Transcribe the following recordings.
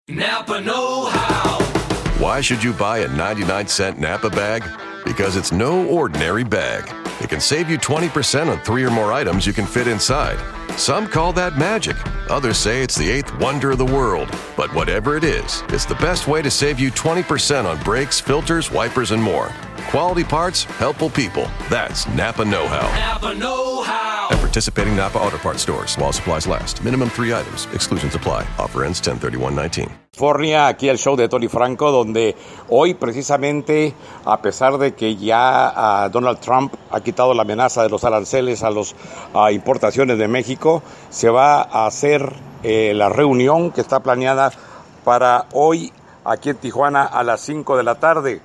Napa know-how. Why should you buy a 99-cent Napa bag? Because it's no ordinary bag. It can save you 20% on 3 or more items you can fit inside. Some call that magic. Others say it's the 8th wonder of the world. But whatever it is, it's the best way to save you 20% on brakes, filters, wipers, and more. Quality parts, helpful people. That's Napa know-how. Napa know-how. At participating Napa Auto Parts stores while supplies last. Minimum 3 items. Exclusions apply. Offer ends 10/31/19. California, aquí el show de Tony Franco, donde hoy precisamente, a pesar de que ya Donald Trump ha quitado la amenaza de los aranceles a las importaciones de México, se va a hacer la reunión que está planeada para hoy aquí en Tijuana a las 5 de la tarde.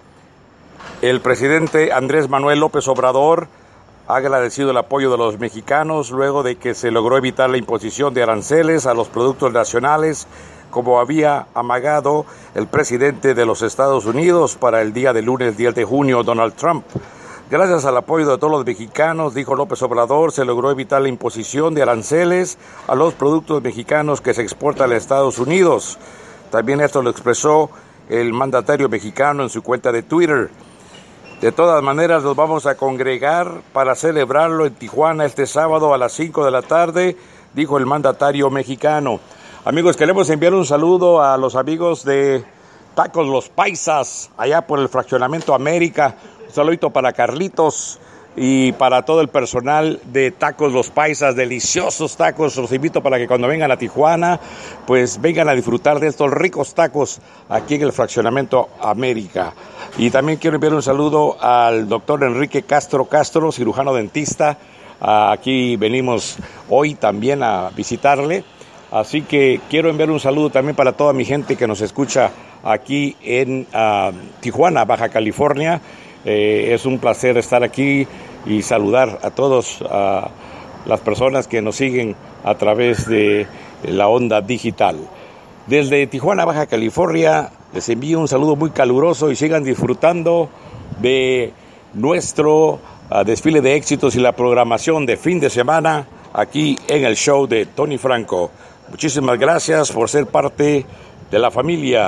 El presidente Andrés Manuel López Obrador ha agradecido el apoyo de los mexicanos luego de que se logró evitar la imposición de aranceles a los productos nacionales, como había amagado el presidente de los Estados Unidos para el día de lunes 10 de junio, Donald Trump. Gracias al apoyo de todos los mexicanos, dijo López Obrador, se logró evitar la imposición de aranceles a los productos mexicanos que se exportan a Estados Unidos. También esto lo expresó el mandatario mexicano en su cuenta de Twitter. De todas maneras, nos vamos a congregar para celebrarlo en Tijuana este sábado a las 5 de la tarde, dijo el mandatario mexicano. Amigos, queremos enviar un saludo a los amigos de Tacos Los Paisas, allá por el Fraccionamiento América. Un saludito para Carlitos y para todo el personal de Tacos Los Paisas, deliciosos tacos. Los invito para que cuando vengan a Tijuana, pues vengan a disfrutar de estos ricos tacos aquí en el Fraccionamiento América. Y también quiero enviar un saludo al doctor Enrique Castro, cirujano dentista. Aquí venimos hoy también a visitarle. Así que quiero enviar un saludo también para toda mi gente que nos escucha aquí en Tijuana, Baja California. Es un placer estar aquí y saludar a todas las personas que nos siguen a través de la onda digital. Desde Tijuana, Baja California, les envío un saludo muy caluroso y sigan disfrutando de nuestro desfile de éxitos y la programación de fin de semana aquí en el show de Tony Franco. Muchísimas gracias por ser parte de la familia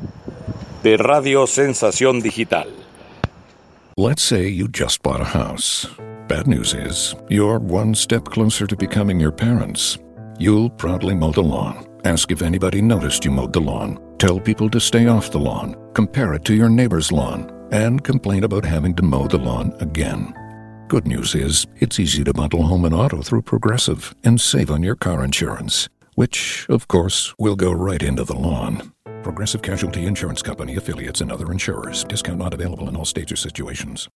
de Radio Sensación Digital. Let's say you just bought a house. Bad news is, you're one step closer to becoming your parents. You'll proudly mow the lawn. Ask if anybody noticed you mowed the lawn. Tell people to stay off the lawn. Compare it to your neighbor's lawn. And complain about having to mow the lawn again. Good news is, it's easy to bundle home and auto through Progressive and save on your car insurance, which, of course, will go right into the lawn. Progressive Casualty Insurance Company, affiliates, and other insurers. Discount not available in all states or situations.